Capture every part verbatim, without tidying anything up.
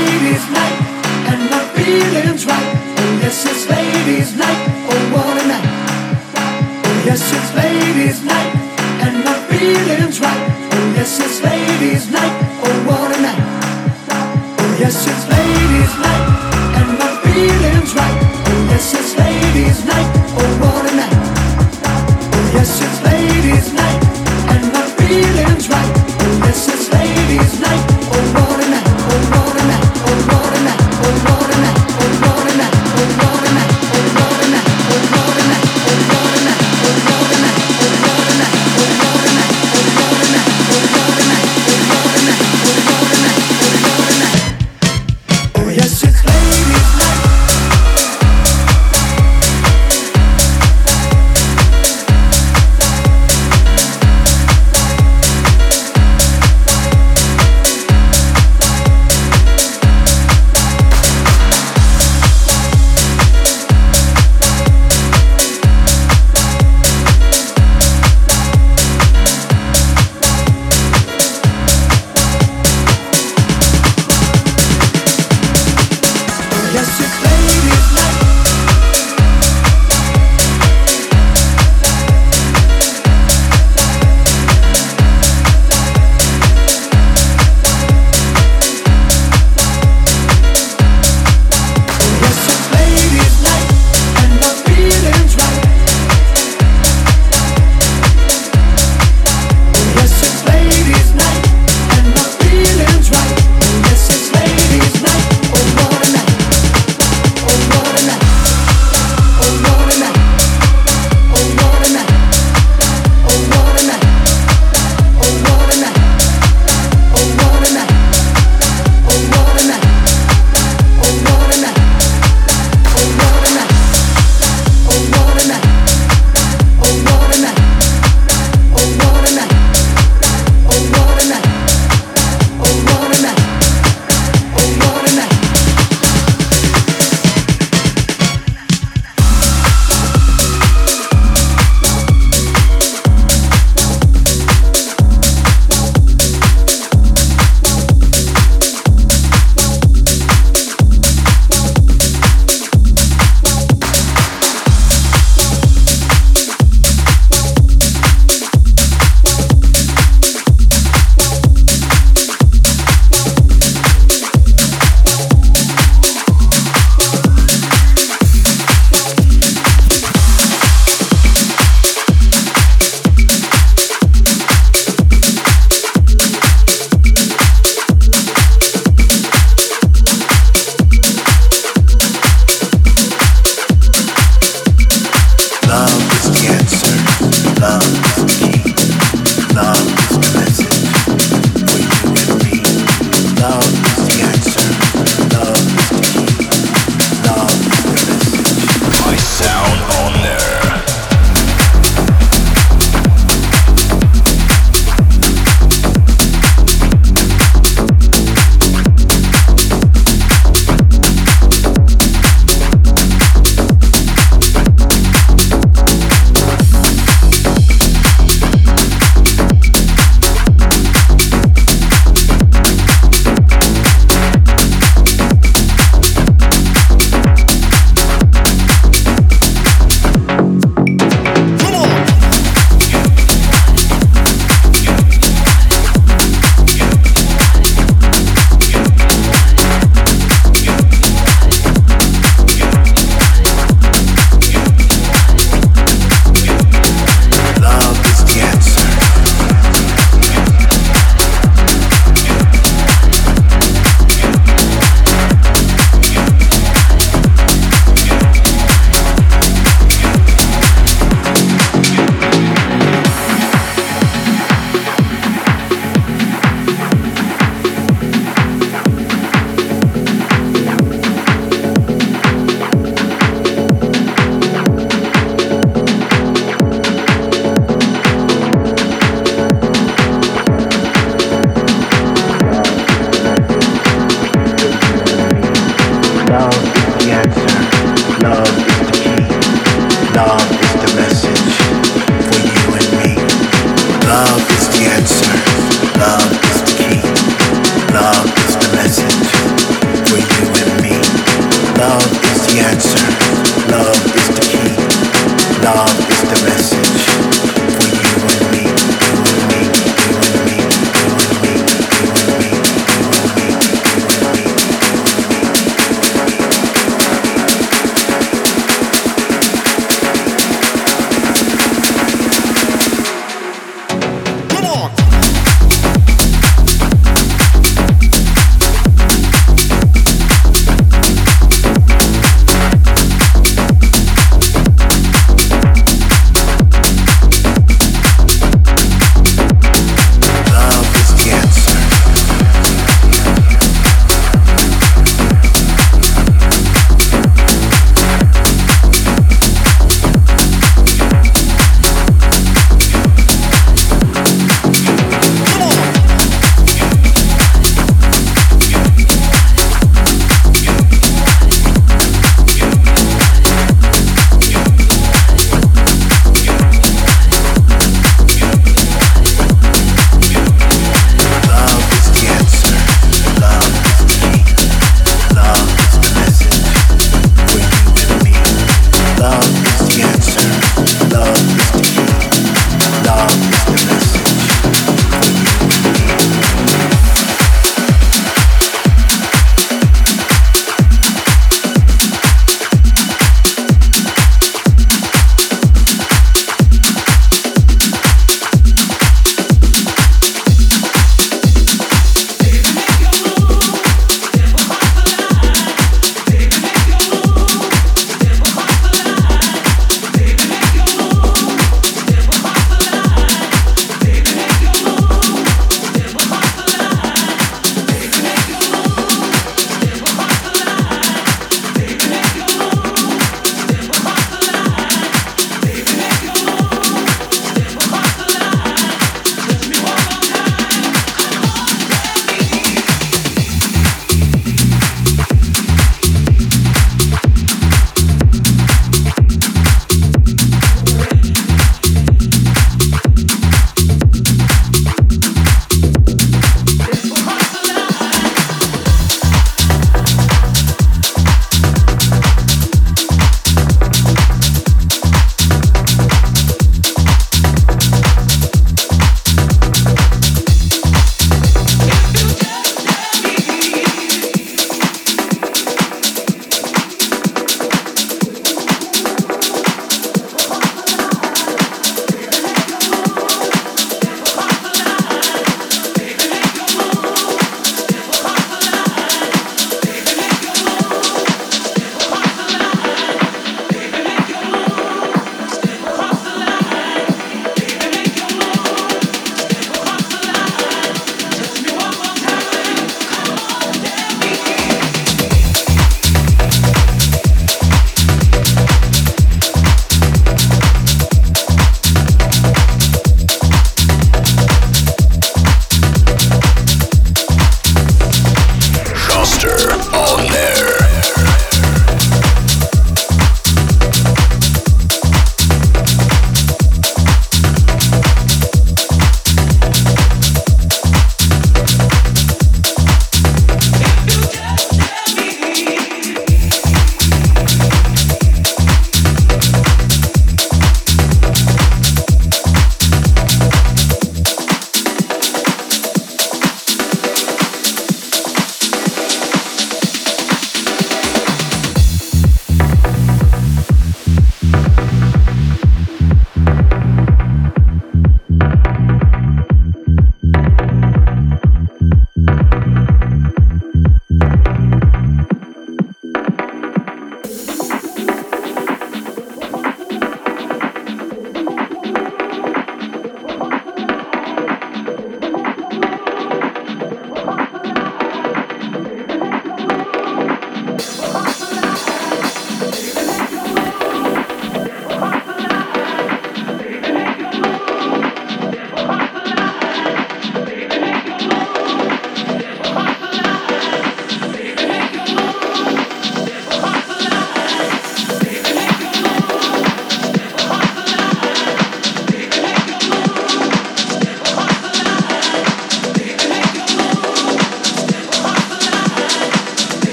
ladies' night, and my feeling's right. Oh yes, it's ladies' night. Oh what a night. Oh yes, it's ladies' night, and my feeling's right. Oh yes, it's ladies' night. Oh what a night. Oh yes, it's ladies' night, and my feeling's right. Oh yes, it's ladies' night. Oh what a night. Oh yes, it's ladies' night, and my feeling's right. Oh yes, it's ladies' night. Oh what a night. Oh what a night. Oh what a night. Oh what a night. Oh what a night. Oh what a night. Oh what a night. Oh what a night. Oh what a night. Oh what a night. Oh what a night. Oh what a night. Oh what a night. Oh what a night. Oh what a night. Oh what a night. Oh what a night. Oh yes, it's ladies' night.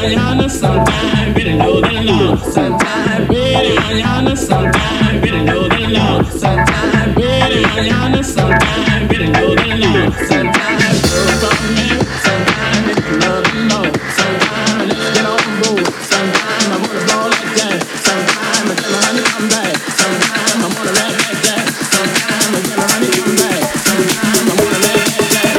mañana, sometime, better know the law. Sometime, better mañana, sometime, better know the law. Sometime, better mañana, sometime, better know the law. Sometime, girl from me, sometime, if you love the law. Sometime, let's get on board. Sometime, I wanna ball like that. Sometime, I tell her, honey, come back. Sometime, I wanna rap like that. Sometime, I tell her, honey, come back. Sometime, I wanna rap like that.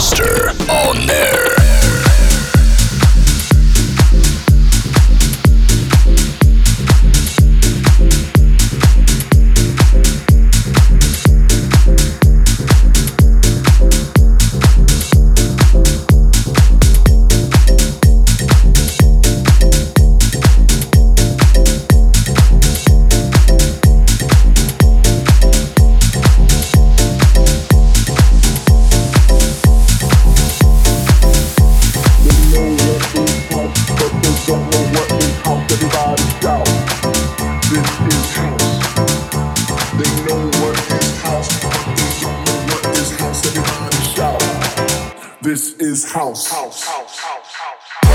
Master on air. This is house. House, house, house, house.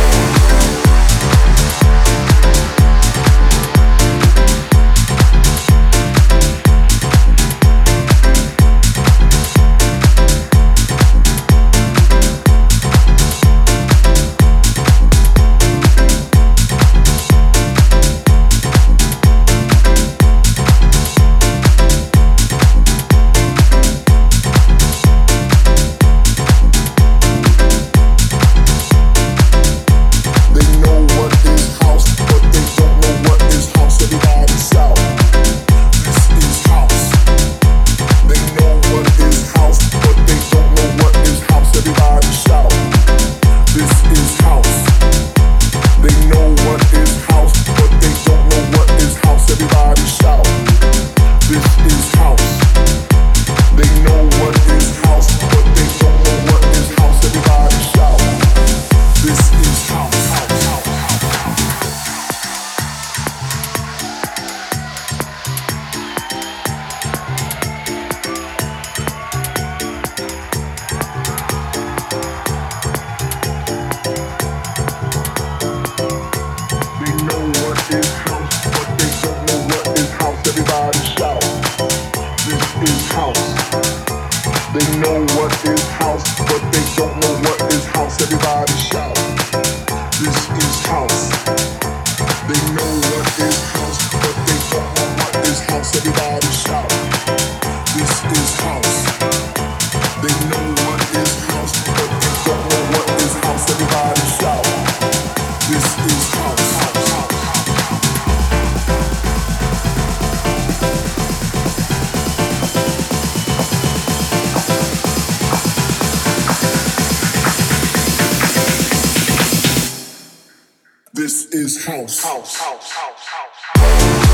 This is house. House, house, house, house.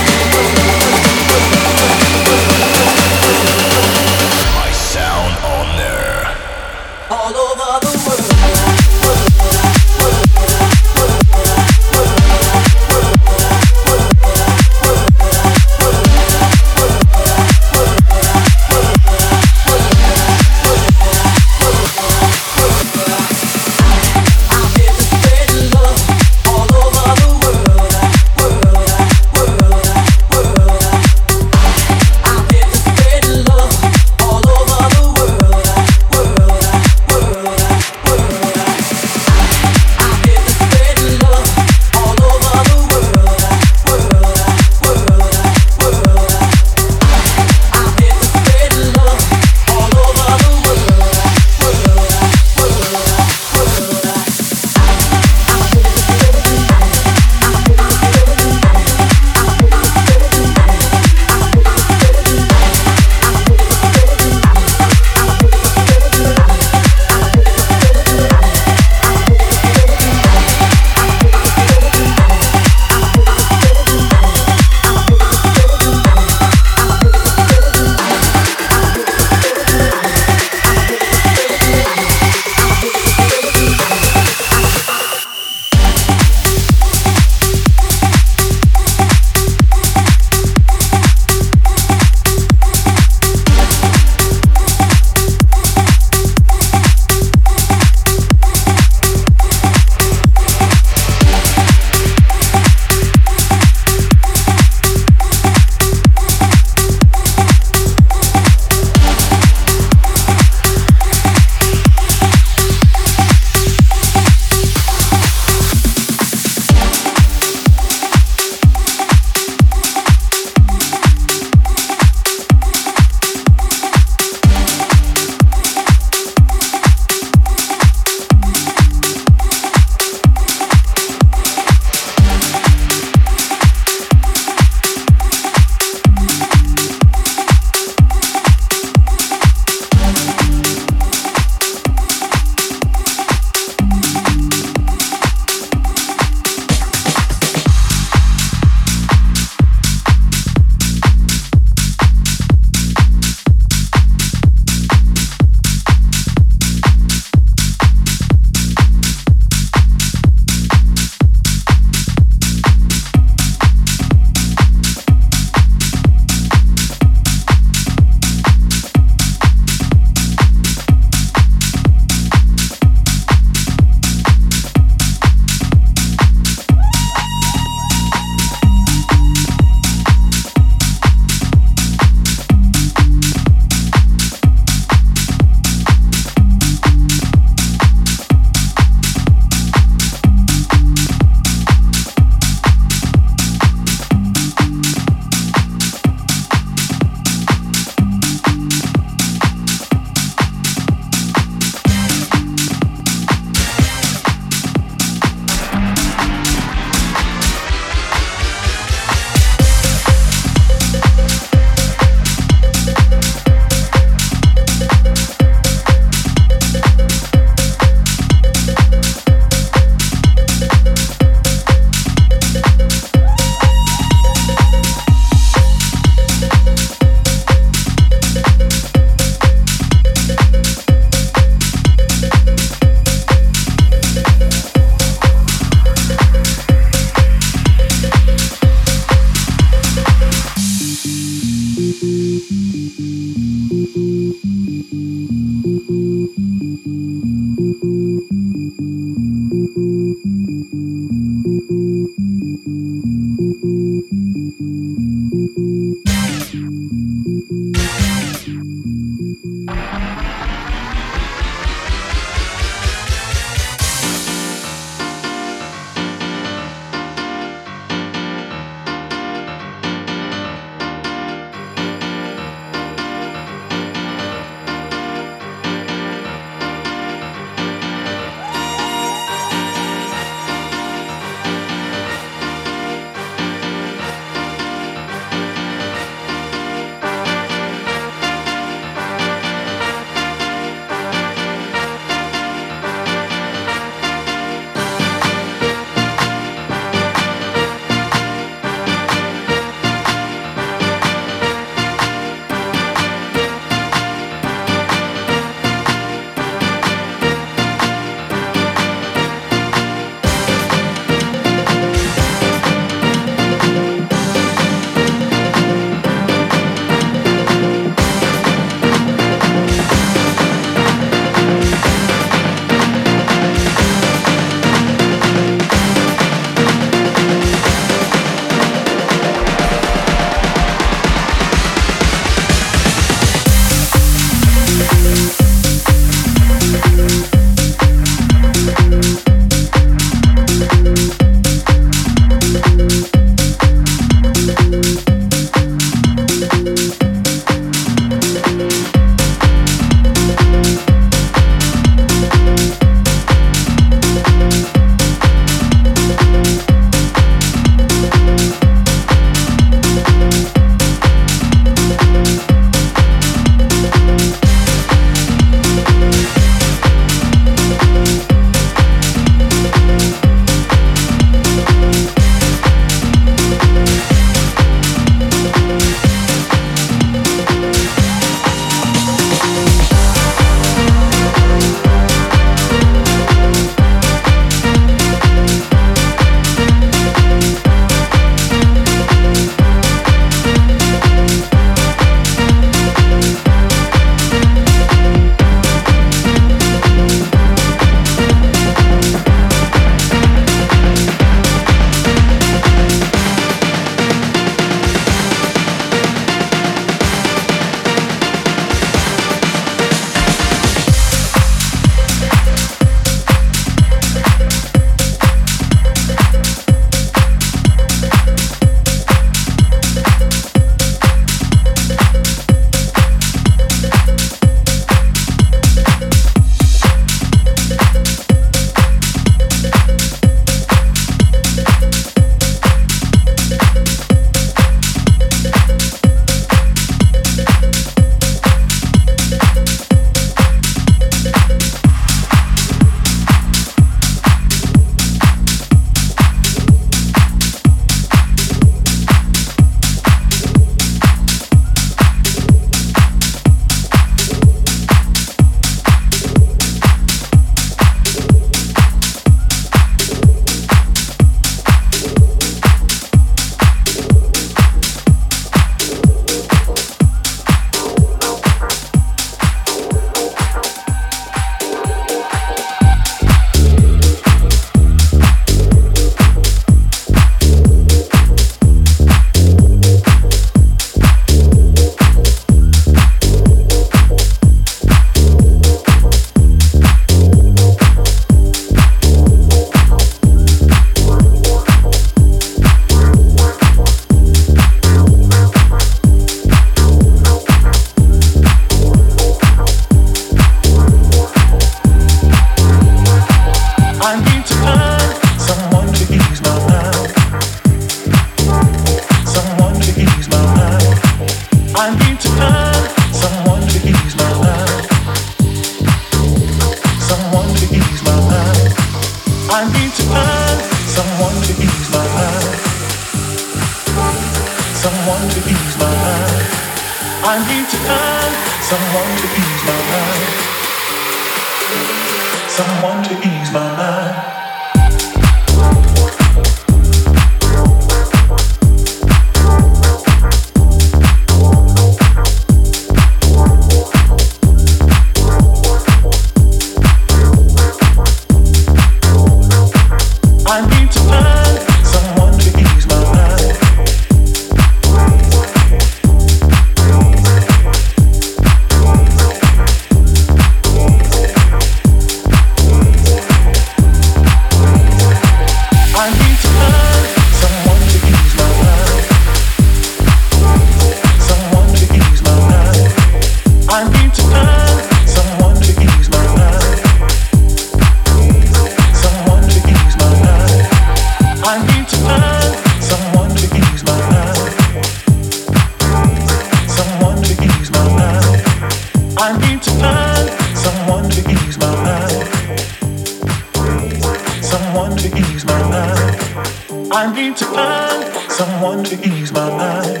need to find someone to ease my mind.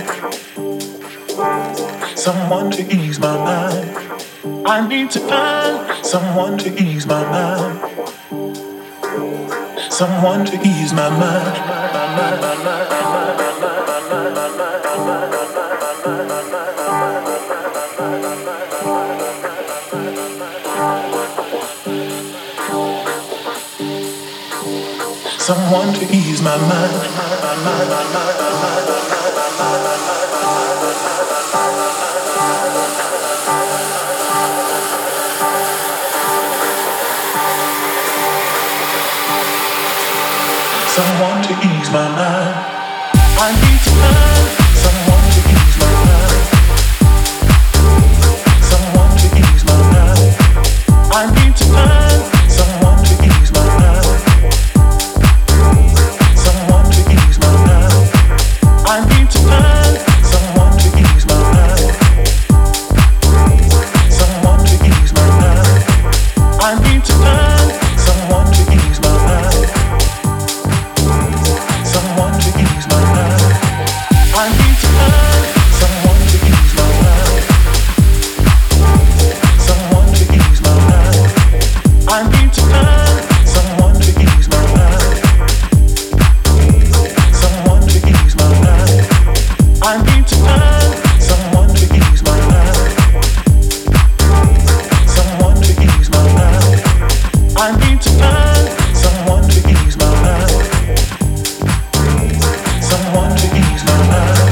Someone to ease my mind. I need to find someone to ease my mind. Someone to ease my mind. Someone to ease my mind. Someone to ease my mind. I need to find someone to ease my mind. Someone to ease my mind. I need to find someone to ease my mind. Someone to ease my mind. I need to find someone to ease my mind. Someone to ease my mind. I need to find someone to ease my mind. Someone to ease my mind. I need to find someone to ease my mind. Someone to ease my mind. I need to find someone to ease my mind. Someone to ease my mind. I need to find someone to ease my mind. Someone to ease my mind. I need to find someone to ease my mind. Someone to ease my mind.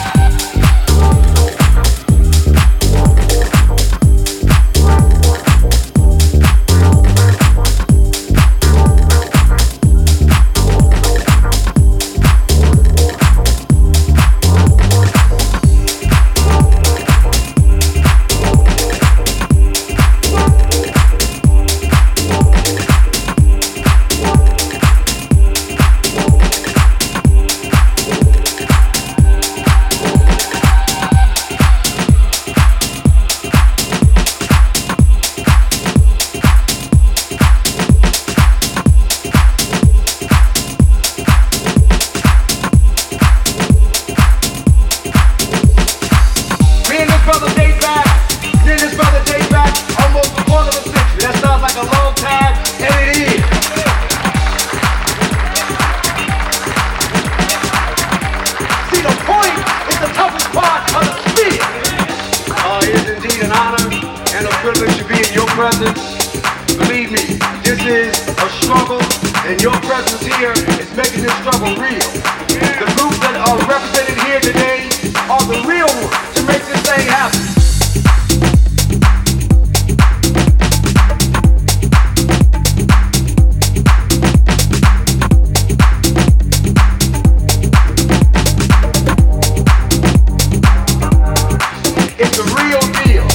Me and this brother date back. Me and this brother date back almost a quarter of a century. That sounds like a long time, and it is. See, the point is the toughest part of the speech. Uh, it is indeed an honor and a privilege to be in your presence. Believe me, this is a struggle, and your presence here is making this struggle real. The groups that are represented here today are the real ones to make this thing happen. It's a real deal.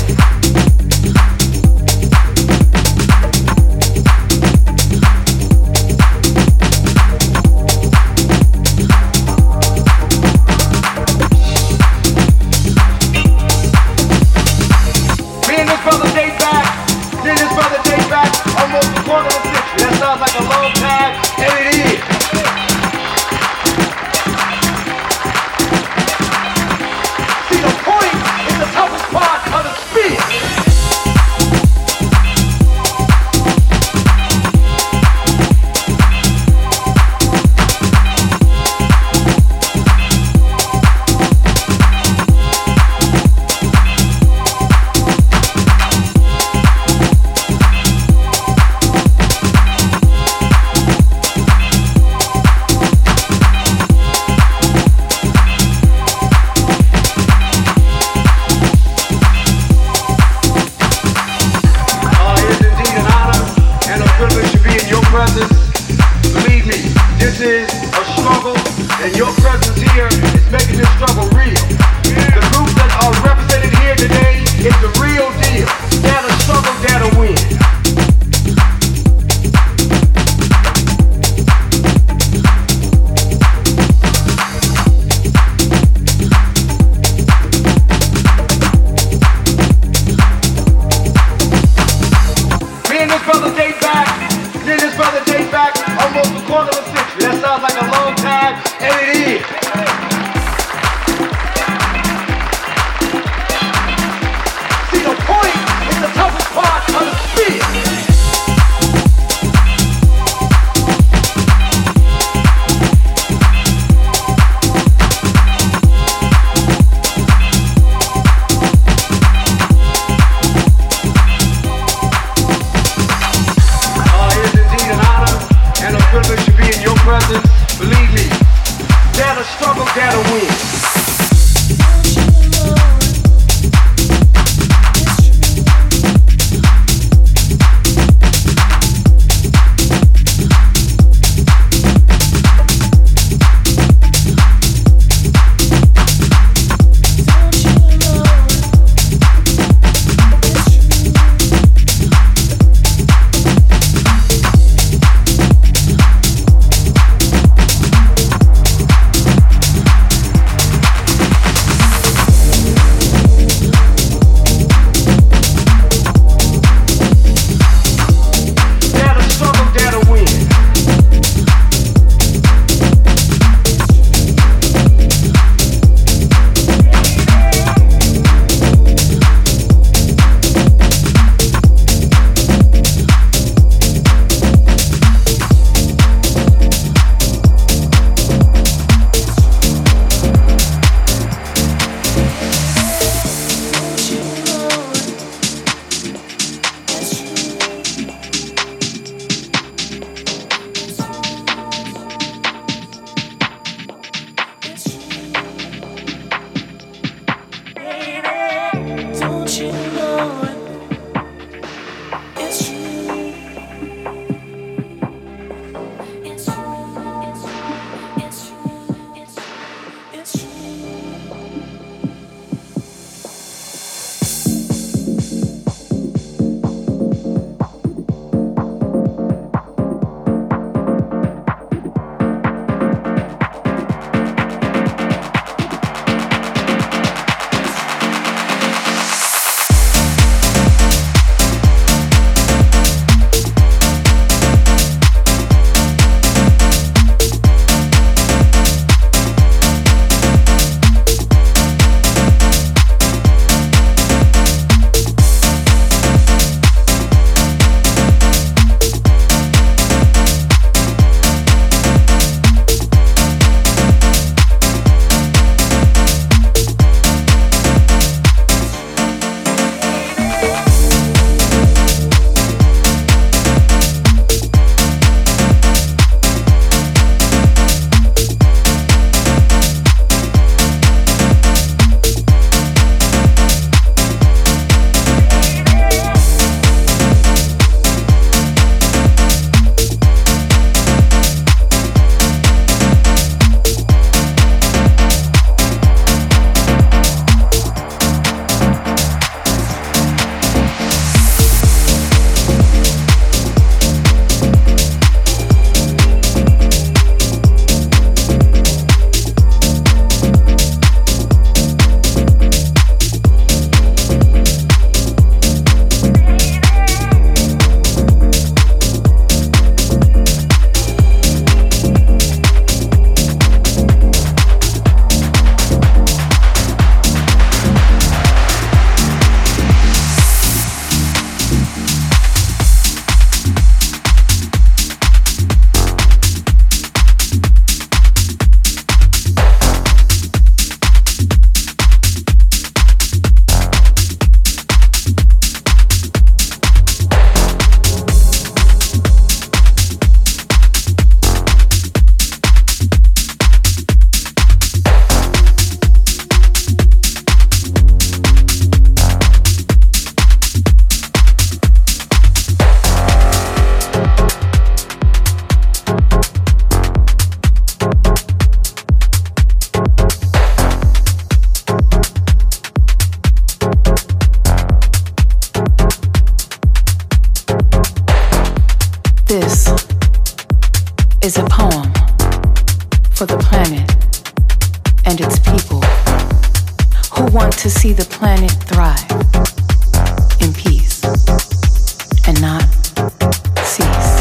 is a poem for the planet and its people who want to see the planet thrive in peace and not cease.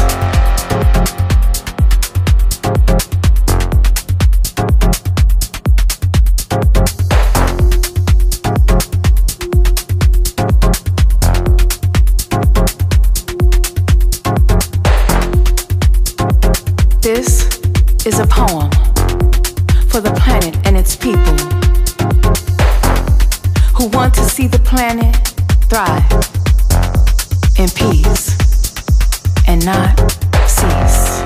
This is a poem for the planet and its people who want to see the planet thrive in peace and not cease.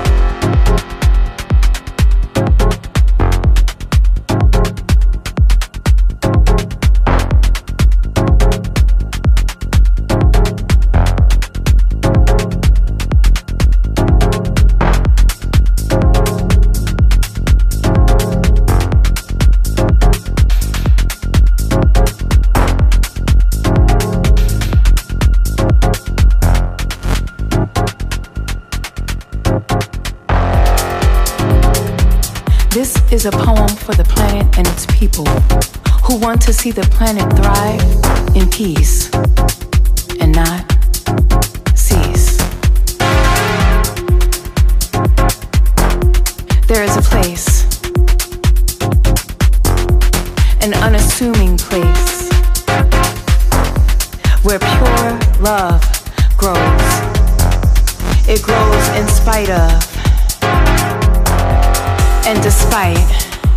This is a poem for the planet and its people who want to see the planet thrive in peace and not cease. There is a place, an unassuming place, where pure love grows. It grows in spite of and despite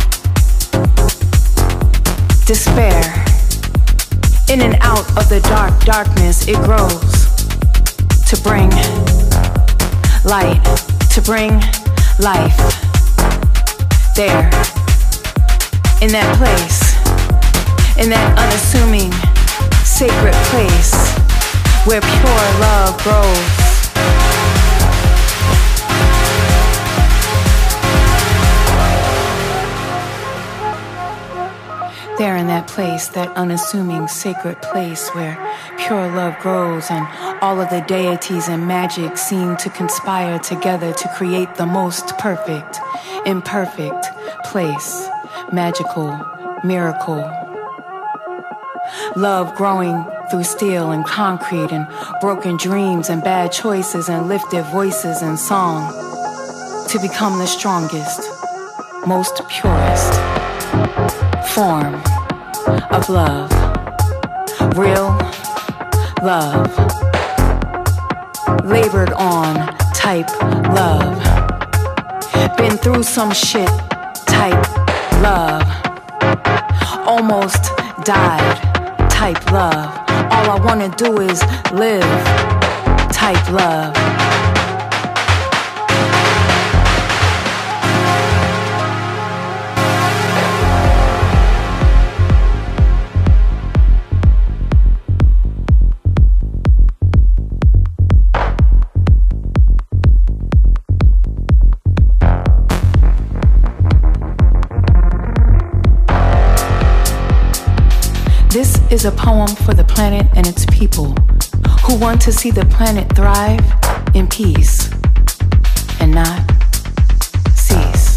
despair. In and out of the dark darkness, it grows to bring light, to bring life. There, in that place, in that unassuming, sacred place where pure love grows. There in that place, that unassuming sacred place where pure love grows and all of the deities and magic seem to conspire together to create the most perfect, imperfect place, magical, miracle. Love growing through steel and concrete and broken dreams and bad choices and lifted voices and song to become the strongest, most purest form of love, real love, labored on type love, been through some shit type love, almost died type love, all I wanna do is live type love. This is a poem for the planet and its people who want to see the planet thrive in peace and not cease.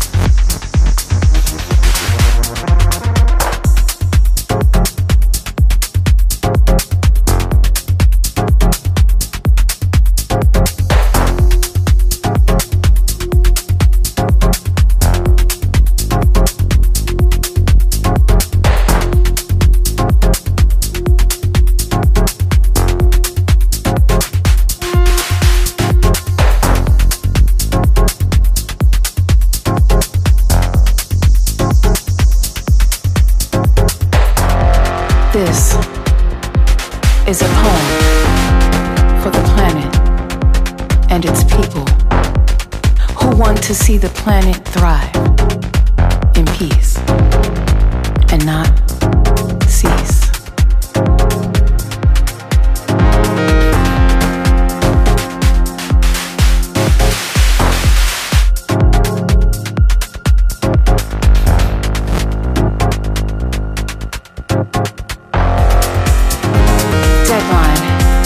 This is a poem for the planet and its people who want to see the planet thrive in peace and not cease.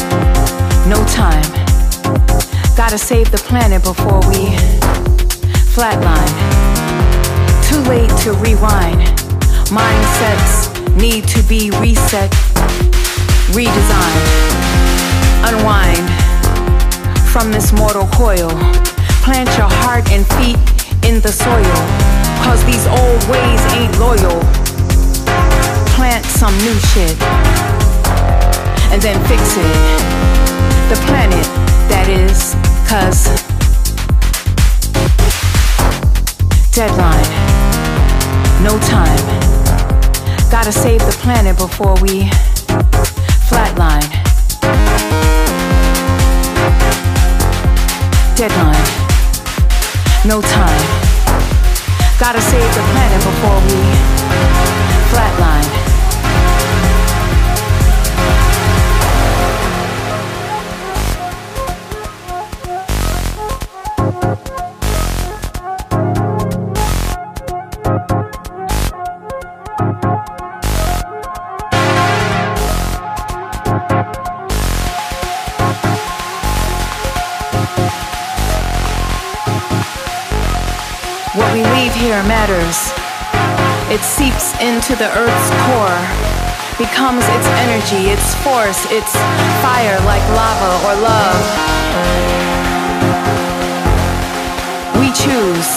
Gotta save the planet before we Flatline. Too late to rewind. Mindsets need to be reset, redesigned. Unwind from this mortal coil. Plant your heart and feet in the soil, cause these old ways ain't loyal. Plant some new shit and then fix it. The planet, that is, cause deadline, no time. Gotta save the planet before we flatline. Deadline, no time. Gotta save the planet before we flatline. What we leave here matters. It seeps into the earth's core, becomes its energy, its force, its fire like lava or love. We choose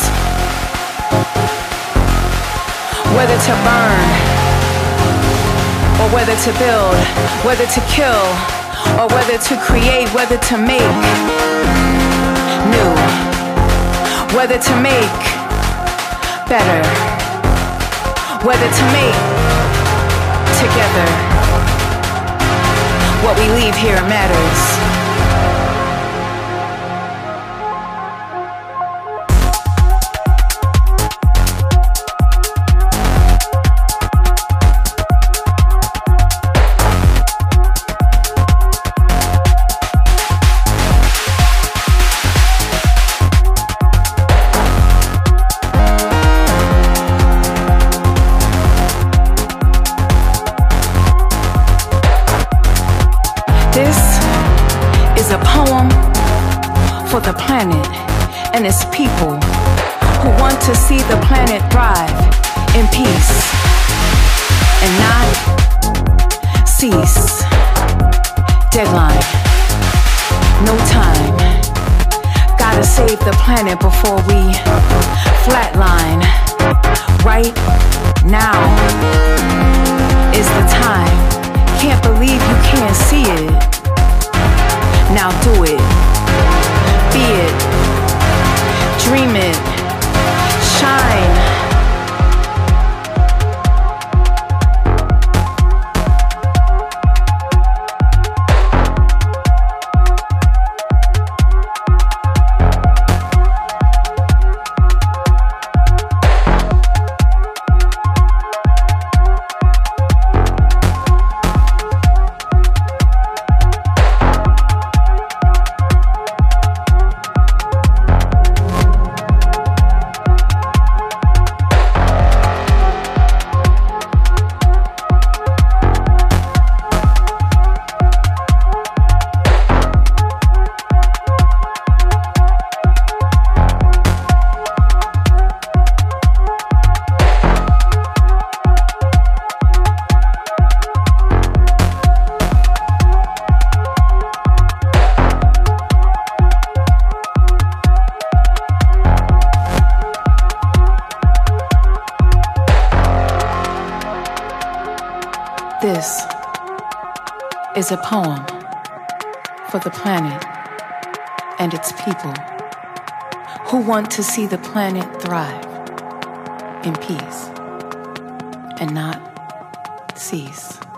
whether to burn or whether to build, whether to kill or whether to create, whether to make new, whether to make better, whether to make together. What we leave here matters. For the planet and its people who want to see the planet thrive in peace and not cease. Deadline, no time. Gotta save the planet before we flatline. Right now is the time. Can't believe you can't see it. Now do it. Be it, dream it, shine. This is a poem for the planet and its people who want to see the planet thrive in peace and not cease.